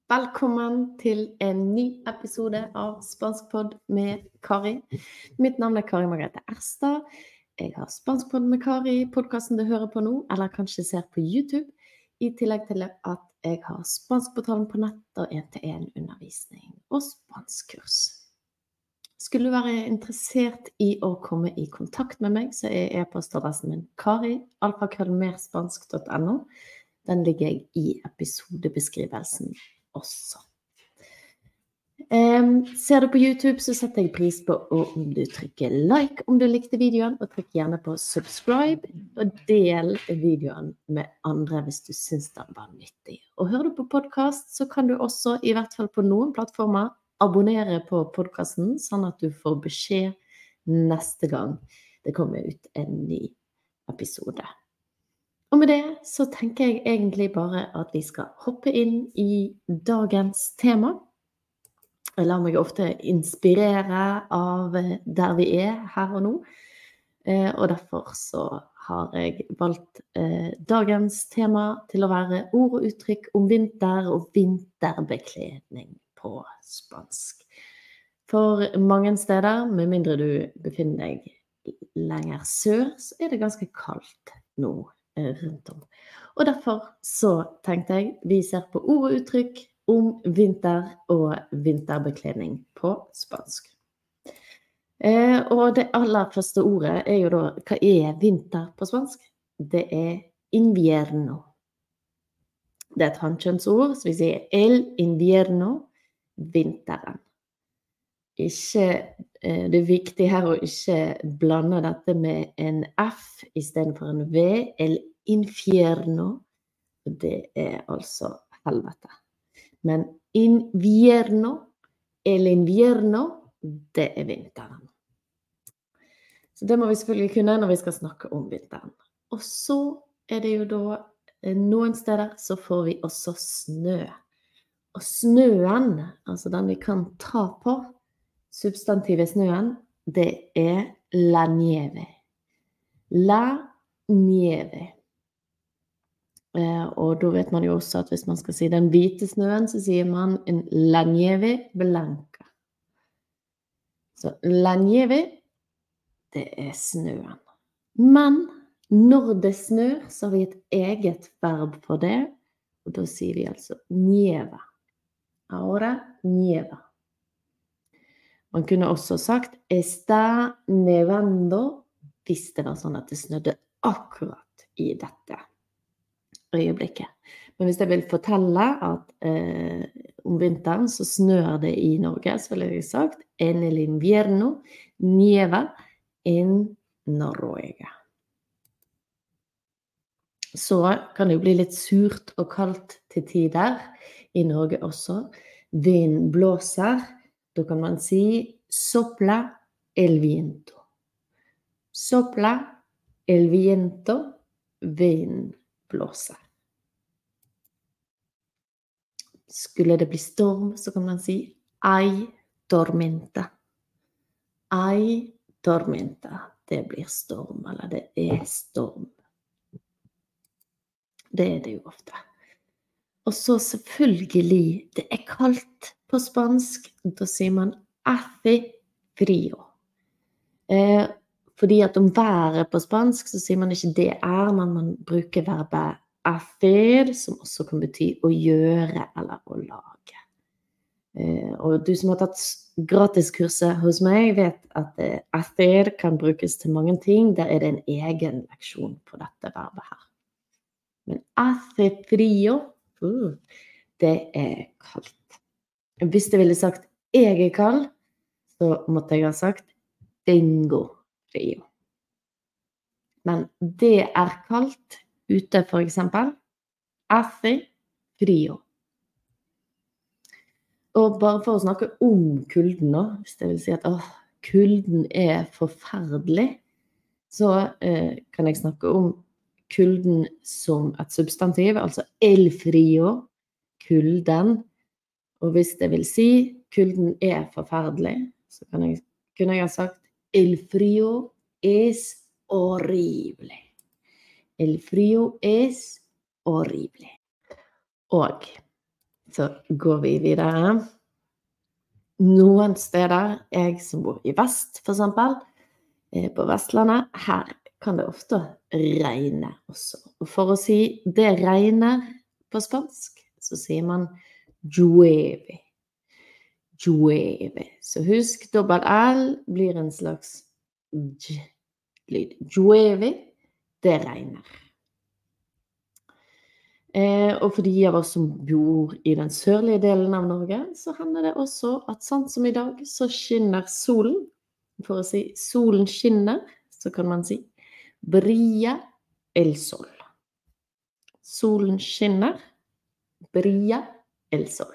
Velkommen til en ny episode av Spanskpod med Kari. Mitt navn Kari Margrethe Erstad. Jeg har Spanskpod med Kari, podcasten du hører på nå, eller kanskje ser på YouTube, i tillegg til at jeg har Spanskportalen på nett og 1-til-1 undervisning og spanskkurs. Skulle du være interessert i å komme i kontakt med meg, så e-postadressen min kari@merspansk.no. Den ligger jeg i episodebeskrivelsen også. Ser du på YouTube, så setter jeg pris på om du trykker like om du likte videoen, og trykk gjerne på subscribe, og del videoen med andre hvis du synes den var nyttig. Og hører du på podcast, så kan du også, i hvert fall på noen plattformer, abonnere på podcasten, sånn at du får beskjed neste gang det kommer ut en ny episode. Og med det så tenker jeg egentlig bare at vi skal hoppe inn i dagens tema. Jeg lar meg ofte inspirere av der vi her og nå, og derfor så har jeg valgt dagens tema til å være ord og uttrykk om vinter og vinterbekledning på spansk. For mange steder, med mindre du befinner deg lenger sør, så det ganske kaldt nå rundt om. Og derfor så tenkte jeg, vi ser på ord og uttrykk om vinter og vinterbekledning på spansk. Og det aller første ordet jo da, hva vinter på spansk? Det invierno. Det et hankjønnsord, så vi sier el invierno, vinteren. Det viktig her å ikke blande dette med en F i stedet for en V, el infierno, det altså helvete. Men invierno, el invierno, det vinteren. Så det må vi selvfølgelig kunne når vi skal snakke om vinteren. Og så det jo da noen steder så får vi også snø. Og snøen, altså den vi kan ta på, substantivet snøen, det la nieve. La nieve. Og da vet man jo også at hvis man skal si den hvite snøen, så sier man en la nieve blanca. Så la nieve, det snøen. Men når det snør, så har vi et eget verb for det, og da sier vi altså nieva. Ahora nieva. Man kunne også sagt está nevando, hvis det var sånn at det snødde akkurat i dette øyeblikket. Men hvis jeg vil fortelle at om vinteren så snør det i Norge, så vil jeg sagt en el invierno nieva en Noruega. Så kan det jo bli litt surt og kaldt til tider i Norge også. Vind blåser. Da kan man si sopla el viento. Sopla el viento, vind blåser. Skulle det bli storm, så kan man si hay tormenta. Hay tormenta. Det blir storm, eller det storm. Det det jo ofte. Og så selvfølgelig, det kaldt på spansk, da sier man hace frío. Fordi at om været på spansk, så sier man ikke det men man bruker verbet hacer, som også kan bety å gjøre eller å lage. Og du som har tatt gratiskurset hos meg vet at hacer kan brukes til mange ting. Der det en egen leksjon på dette verbet her. Men hace frío, det kaldt. Hvis jeg ville sagt jeg kald, så måtte jeg ha sagt tengo frío. Men det kaldt ute for eksempel. Hace frío. Og bare for å snakke om kulden nå, hvis jeg vil si at kulden forferdelig, så kan jeg snakke om kulden som et substantiv, altså el frío, kulden. Og hvis det vil si kulden forferdelig, så kunne jeg ha sagt el frío horrible. El frío horrible. Og Så går vi videre. Noen steder, jeg som bor i vest for eksempel, på Vestlandet, her kan det ofte regne også. Og for å si det regner på spansk, så sier man llueve. Llueve. Så husk, dobbelt L blir en slags lyd. Llueve, det regner. Og for de av oss som bor i den sørlige delen av Norge, så hender det også at sånn som i dag, så skinner solen. For å si solen skinner, så kan man si brilla el sol. Solen skinner, brilla el sol.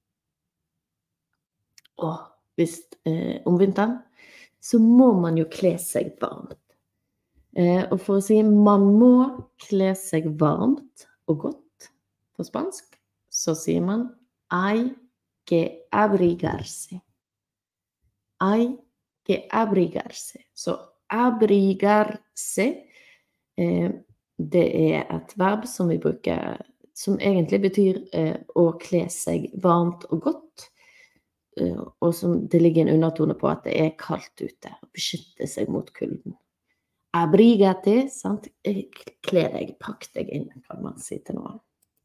Og hvis om vinteren, så må man jo kle seg varmt. Og for å si man må kle seg varmt og godt på spansk, så sier man hay que abrigarse. Hay que abrigarse. Så abrigarse, det et verb som vi bruker, som egentlig betyr å kle seg varmt og godt, og som det ligger en undertone på at det kaldt ute, og beskytte seg mot kulden. Abrigate, sant? Kle deg, pakk deg inn, kan man si til noen.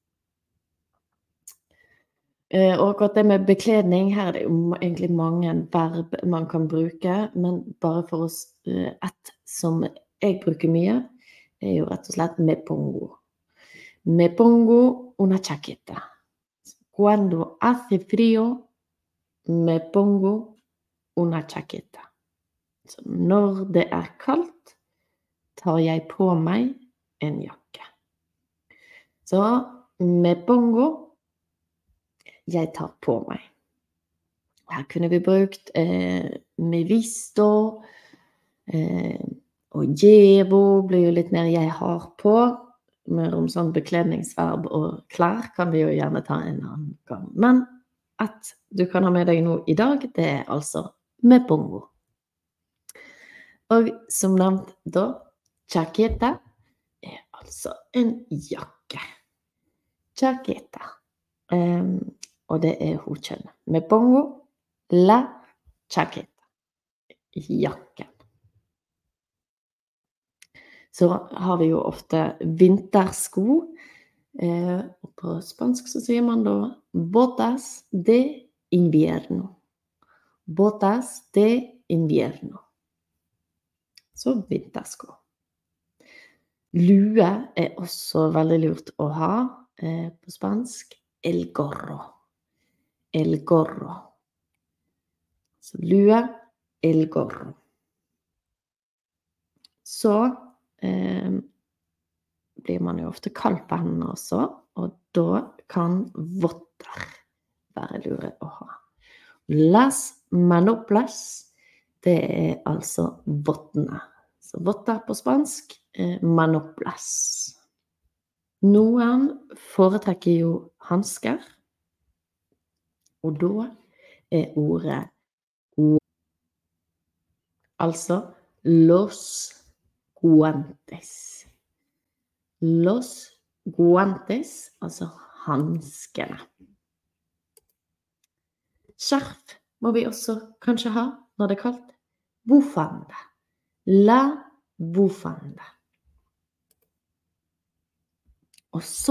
Og akkurat det med bekledning, her det jo egentlig mange verb man kan bruke, men bare for oss, et som jeg bruker mye, jo rett og slett me pongo. Me pongo una chaqueta. Cuando hace frío, me pongo una chaqueta. Så når det kaldt, tar jeg på meg en jakke. Så me pongo, jeg tar på meg. Her kunne vi brukt me visto, og llevo blir jo litt mer jeg har på. Mer om sånn bekledningsverb og klær kan vi jo gjerne ta en annen gang. Men at du kan ha med deg noe i dag, det altså me pongo. Og som nevnt da, chaqueta altså en jakke. Chaqueta. Og det hodkjønn. Me pongo la chaqueta. Jakken. Så har vi jo ofte vintersko. Og på spansk så sier man da botas de invierno. Botas de invierno. Så vintersko. Lue også veldig lurt å ha på spansk. El gorro. El gorro. Så lue, el gorro. Så blir man jo ofte kald på hendene også, og da kan votter være lure å ha. Las manoplas, det altså vottene. Så votter på spansk, manoplas. Noen foretrekker jo handsker, og da ordet altså los guantes. Los guantes, altså handskene. Skjerf må vi også kanskje ha når det kaldt. Bufanda. La bufanda. Og så,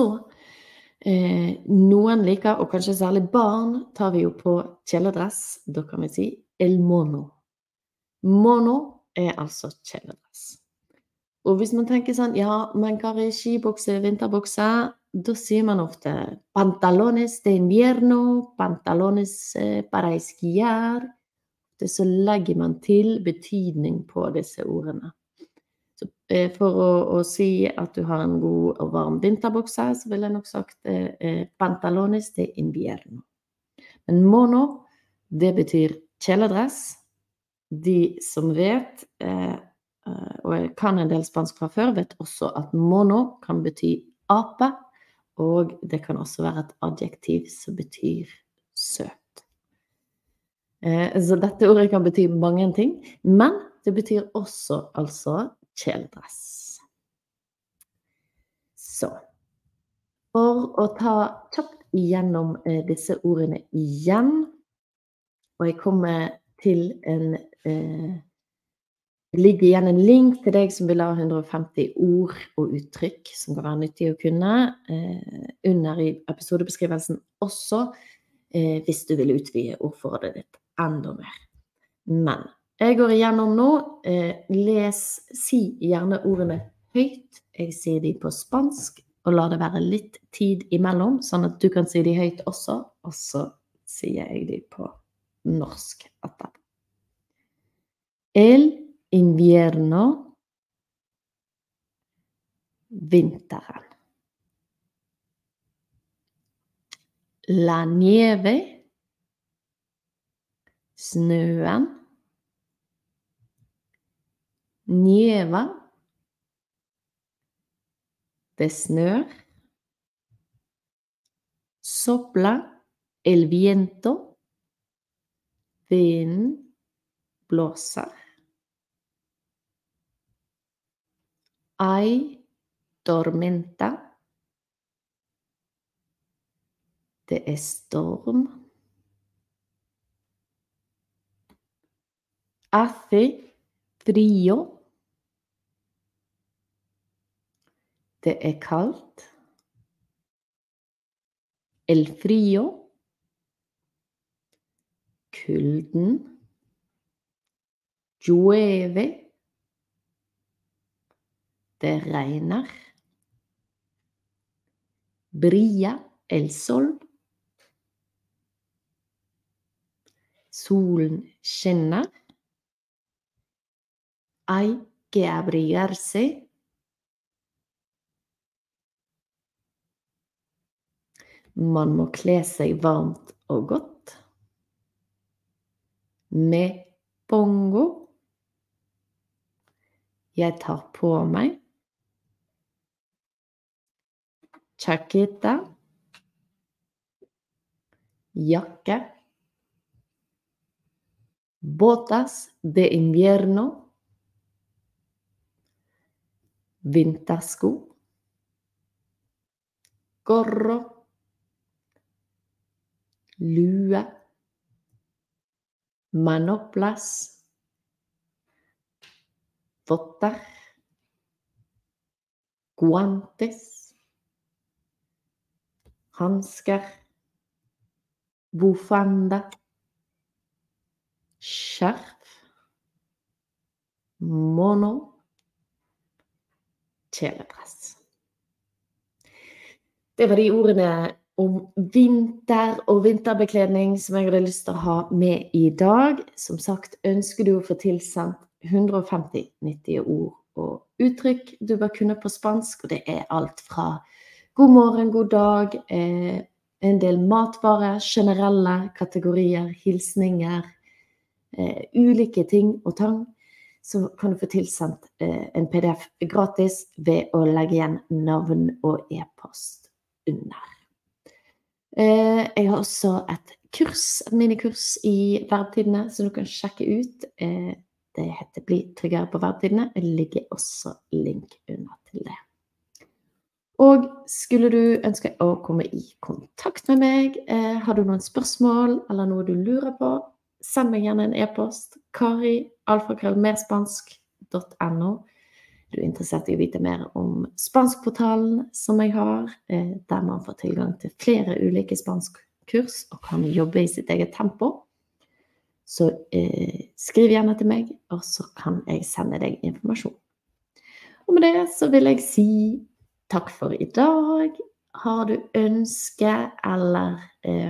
noen liker, og kanskje særlig barn, tar vi jo på kjeledress. Da kan vi si el mono. Mono altså kjeledress. Og hvis man tenker sånn, ja, men Kari, skibukse, vinterbukse, da sier man ofte pantalones de invierno, pantalones para esquiar. Det så legger man til betydning på disse ordene. Så for å si at du har en god og varm vinterbukse, så vil jeg nok sagt pantalones de invierno. Men mono, det betyr kjeledress. De som vet, og jeg kan en del spansk fra før, vet også at mono kan bety ape, og det kan også være et adjektiv som betyr søt. Så dette ordet kan bety mange ting, men det betyr også altså kjeledress. Så, for å ta kjapt igjennom disse ordene igjen, og jeg kommer til det ligger igjen en link til deg som vil ha 150 ord og uttrykk som kan være nyttig å kunne under i episodebeskrivelsen også, hvis du vil utvide ordforrådet ditt enda mer. Men jeg går igjennom nå, si gjerne ordene høyt, jeg sier de på spansk, og la det være litt tid imellom, sånn at du kan si de høyt også, og så sier jeg de på norsk etterpå. El invierno, vinteren. La nieve, snøen. Nieva, det snør. Sopla, el viento, vinden blåser. Hay tormenta, det storm. Hace frío, det kaldt. El frío, kulden. Llueve, det regner. Brilla el sol, solen skinner. Hay que abrigarse, man må kle seg varmt og godt. Me pongo, jeg tar på meg. Chaqueta, jakke. Botas de invierno, vintersko. Gorro, lue. Manoplas, votter. Guantes, hansker. Bufanda, skjerf. Mono, kjeledress. Det var de ordene om vinter og vinterbekledning som jeg hadde lyst til å ha med i dag. Som sagt, ønsker du å få tilsendt 150 nyttige ord og uttrykk du bør kunne på spansk, og det er alt fra god morgen, god dag, en del matvarer, generelle kategorier, hilsninger, ulike ting og tang, så kan du få tilsendt en PDF gratis ved å legge igjen navn og e-post under. Jeg har også et minikurs i Verbtidene som du kan sjekke ut. Det heter Bli tryggere på Verbtidene. Det ligger også link under til det. Og skulle du ønske å komme i kontakt med meg, har du noen spørsmål eller noe du lurer på, send meg gjerne en e-post, kari@merspansk.no. Du er interessert i å vite mer om spanskportalen som jeg har, der man får tilgang til flere ulike spanskkurs og kan jobbe i sitt eget tempo. Så skriv gjerne til meg, og så kan jeg sende deg informasjon. Og med det så vil jeg si takk for i dag. Har du ønske eller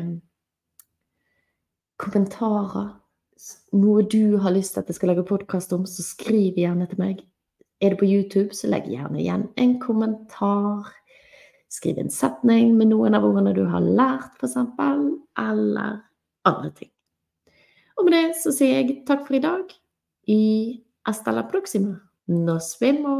kommentarer, noe du har lyst til at jeg skal lage podcast om, så skriv gjerne til meg. Er det på YouTube, så legg gjerne igjen en kommentar. Skriv en setning med noen av ordene du har lært, for eksempel, eller andre ting. Og med det så sier jeg takk for i dag. Hasta la próxima. Nos vemos.